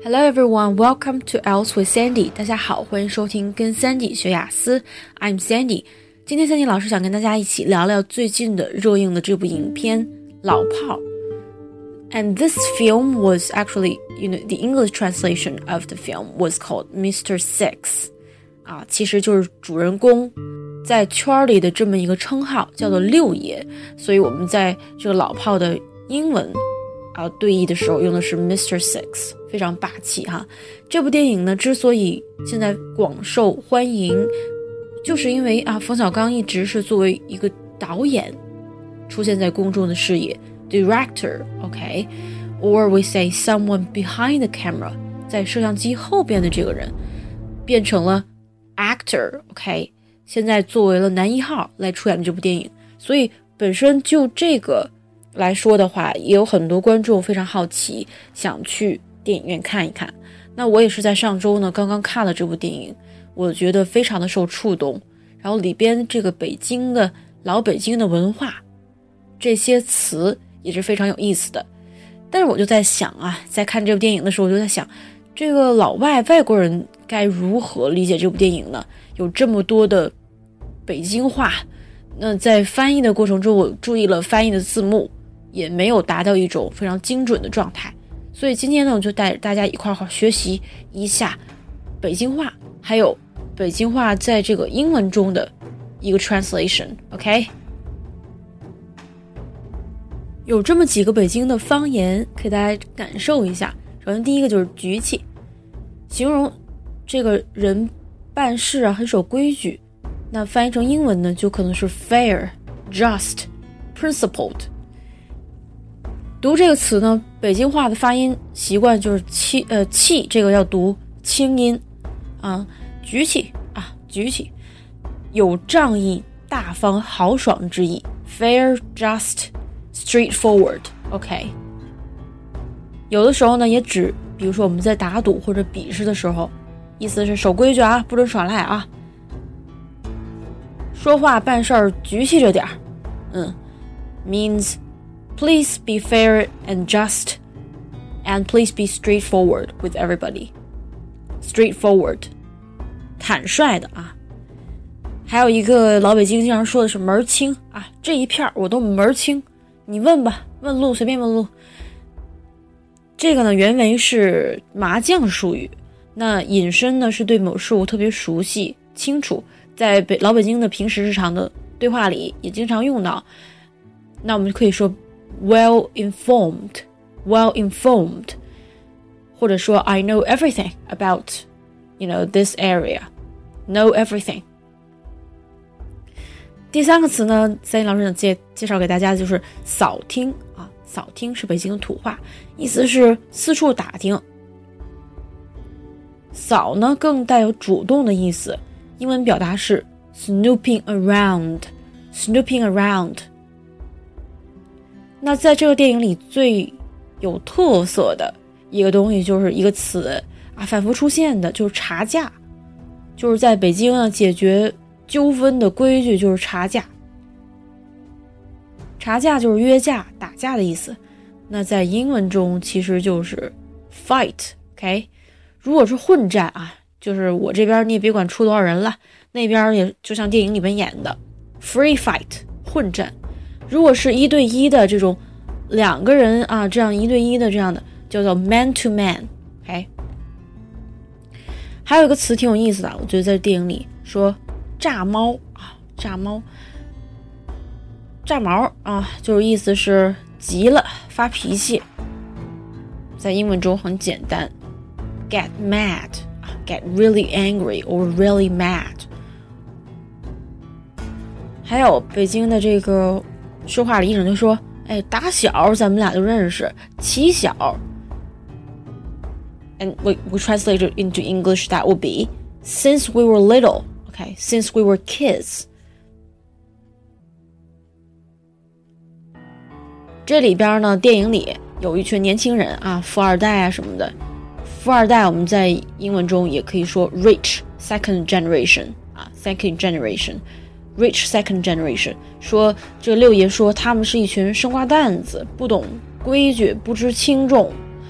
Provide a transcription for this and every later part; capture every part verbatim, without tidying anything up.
Hello everyone, welcome to Else with Sandy. 大家好，欢迎收听跟 Sandy 学雅思。I'm Sandy. 今天 Sandy 老师想跟大家一起聊聊最近的热映的这部影片《老炮》。And this film was actually, you know, the English translation of the film was called Mister Six. 啊，其实就是主人公在圈里的这么一个称号，叫做六爷。所以我们在这个老炮的英文啊对译的时候用的是 Mister Six， 非常霸气哈。这部电影呢，之所以现在广受欢迎，就是因为啊，冯小刚一直是作为一个导演出现在公众的视野。Director, okay, or we say someone behind the camera, 在摄像机后边的这个人变成了 actor, okay, 现在作为了男一号来出演这部电影。所以本身就这个来说的话，也有很多观众非常好奇，想去电影院看一看。那我也是在上周呢刚刚看了这部电影，我觉得非常的受触动，然后里边这个北京的老北京的文化，这些词也是非常有意思的。但是我就在想啊，在看这部电影的时候，我就在想，这个老外外国人该如何理解这部电影呢？有这么多的北京话，那在翻译的过程中，我注意了翻译的字幕，也没有达到一种非常精准的状态。所以今天呢，我就带大家一块儿学习一下北京话，还有北京话在这个英文中的一个 translation，OK？、okay? 有这么几个北京的方言给大家感受一下。首先第一个就是局气，形容这个人办事啊很守规矩，那翻译成英文呢就可能是 fair, just, principled。 读这个词呢，北京话的发音习惯就是气呃气这个要读清音啊，局气啊局气，有仗义大方豪爽之意， fair, just,straightforward, OK。 有的时候呢也指比如说我们在打赌或者比试的时候，意思是守规矩啊，不准耍赖啊，说话办事儿局气着点儿。嗯 means please be fair and just and please be straightforward with everybody. Straightforward 坦率的啊。还有一个老北京经常说的是门儿清啊，这一片我都门儿清，你问吧，问路随便问路。这个呢原为是麻将术语，那引申呢是对某事物特别熟悉清楚，在北老北京的平时日常的对话里也经常用到。那我们可以说 well informed, well informed， 或者说 I know everything about, you know, this area, know everything。第三个词呢，三一老师想介介绍给大家的就是扫听啊，扫听是北京的土话，意思是四处打听。扫呢更带有主动的意思，英文表达是 snooping around, snooping around。那在这个电影里最有特色的一个东西就是一个词啊，反复出现的就是查价，就是在北京呢解决纠纷的规矩就是查价，查价就是约架打架的意思。那在英文中其实就是 fight, OK？ 如果是混战啊，就是我这边你也别管出多少人了，那边也就像电影里面演的 free fight 混战。如果是一对一的这种两个人啊，这样一对一的这样的叫做 man to man, OK？ 还有一个词挺有意思的，我觉得在电影里说炸猫啊，炸猫，炸毛啊，就是意思是急了，发脾气。在英文中很简单 ，get mad 啊 ，get really angry or really mad。还有北京的这个说话里一整就说，哎，打小咱们俩就认识，起小。And we we translate it into English, that would be since we were little.Okay, since we were kids. 这里边呢，电影里有一群年轻人啊，富二代啊什么的。富二代我们在英文中也可以说 rich second generation 啊 second generation rich second generation。 说这个六爷说他们是一群生瓜蛋子，不懂规矩，不知轻重。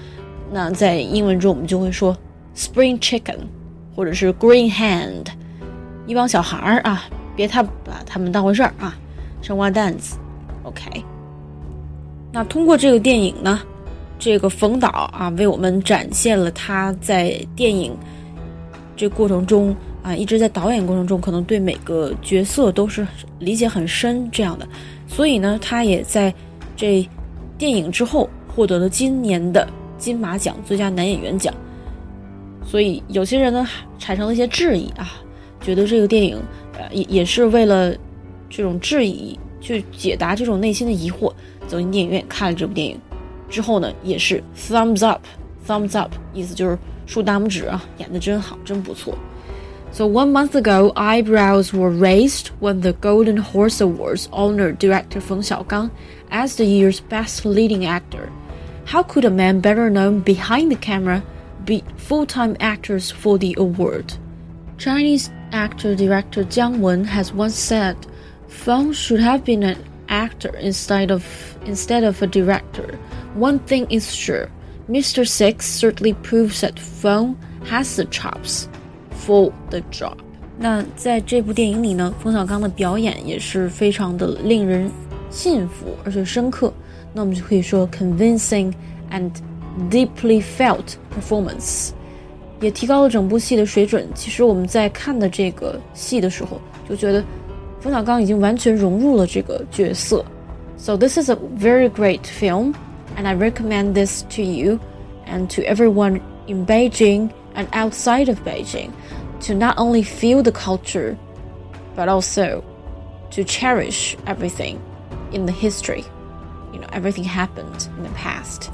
那在英文中我们就会说 spring chicken 或者是 green hand， 一帮小孩啊，别太把他们当回事儿啊，生瓜蛋子 OK。 那通过这个电影呢，这个冯导啊为我们展现了他在电影这过程中啊，一直在导演过程中可能对每个角色都是理解很深这样的，所以呢他也在这电影之后获得了今年的金马奖最佳男演员奖。所以有些人呢产生了一些质疑啊，觉得这个电影呃也也是为了这种质疑去解答这种内心的疑惑，走进电影院看了这部电影之后呢，也是 thumbs up thumbs up 意思就是竖大拇指啊，演得真好，真不错。So one month ago, eyebrows were raised when the Golden Horse Awards honored director Feng Xiaogang as the year's best leading actor. How could a man better known behind the camera beat full-time actors for the award? Chinese actor-director Jiang Wen has once said, Feng should have been an actor instead of, instead of a director. One thing is sure, Mister Six certainly proves that Feng has the chops.For the job. 那在这部电影里呢，冯小刚的表演也是非常的令人信服而且深刻，那我们就可以说 convincing and deeply felt performance， 也提高了整部戏的水准。其实我们在看的这个戏的时候就觉得冯小刚已经完全融入了这个角色。 So this is a very great film and I recommend this to you and to everyone in Beijing and outside of Beijing to not only feel the culture but also to cherish everything in the history. You know, everything happened in the past.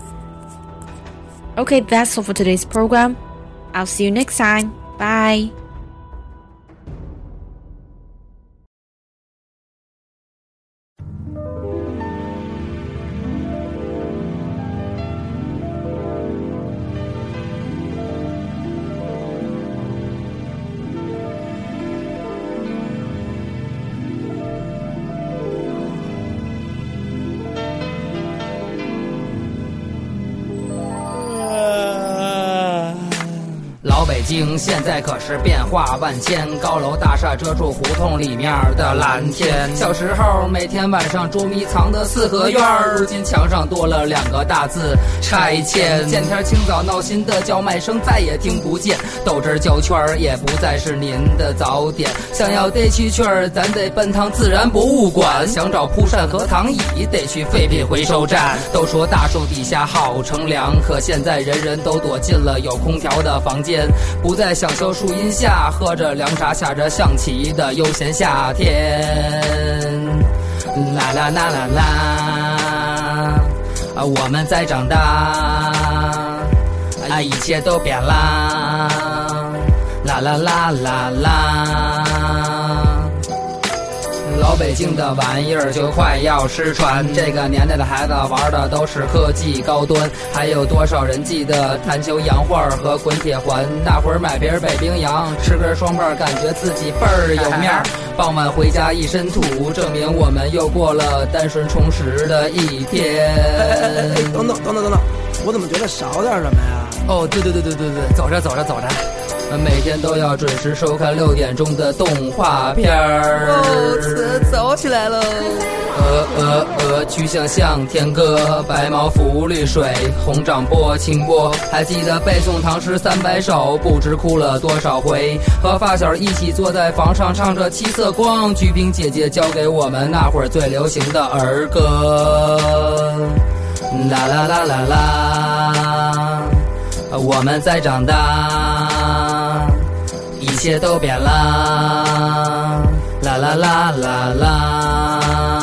Okay, that's all for today's program. I'll see you next time. Bye. 老北京现在可是变化万千，高楼大厦遮住胡同里面的蓝天。小时候每天晚上捉迷藏的四合院，如今墙上多了两个大字拆迁。见天清早闹心的叫卖声再也听不见，豆汁胶圈也不再是您的早点。想要逮蛐蛐儿，咱得奔趟自然博物馆，想找蒲扇和躺椅，得去废品回收站。都说大树底下好乘凉，可现在人人都躲进了有空调的房间，不再享受树荫下喝着凉茶下着象棋的悠闲夏天。啦啦啦啦啦，啊，我们在长大，啊，一切都变啦，啦啦啦啦啦。老北京的玩意儿就快要失传，这个年代的孩子玩的都是科技高端，还有多少人记得弹球洋画和滚铁环？那会儿买瓶北冰洋，吃根双棒，感觉自己倍儿有面儿。傍晚回家一身土，证明我们又过了单纯充实的一天。 哎哎哎哎，等等等等等等，我怎么觉得少点什么呀？ 哦，对对对对对对，走着走着走着。每天都要准时收看六点钟的动画片儿。 哦，早起来了。 鹅鹅鹅，曲项向天歌，白毛浮绿水，红掌拨清波。还记得背诵唐诗三百首，不知哭了多少回。和发小一起坐在房上唱着七色光，鞠萍姐姐教给我们那会儿最流行的儿歌。啦啦啦啦啦，我们在长大，一切都变啦，啦啦啦啦啦。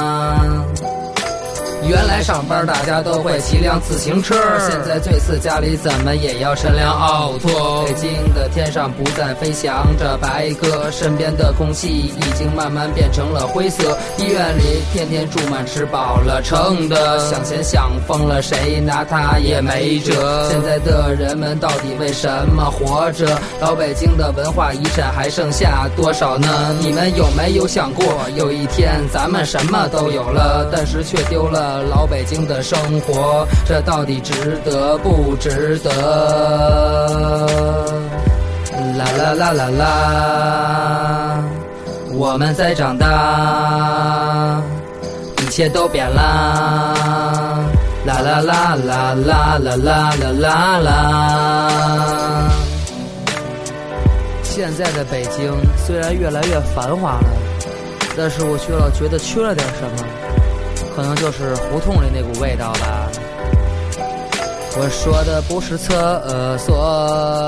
原来上班大家都会骑辆自行车，现在这次家里怎么也要乘辆奥拓。北京的天上不再飞翔着白鸽，身边的空气已经慢慢变成了灰色。医院里天天住满吃饱了撑的，想钱想疯了，谁拿他也没辙。现在的人们到底为什么活着？老北京的文化遗产还剩下多少呢？你们有没有想过，有一天咱们什么都有了，但是却丢了了老北京的生活，这到底值得不值得？啦啦啦啦啦，我们在长大，一切都变啦，啦啦啦啦啦啦啦啦啦啦。现在的北京虽然越来越繁华了，但是我却老觉得缺了点什么，可能就是胡同里那股味道吧。我说的不是厕所。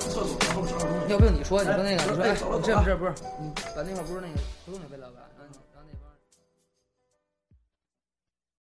要不你说，你说那个，你说，哎，这不是不是，你把那块不是那个胡同里味道吧？嗯。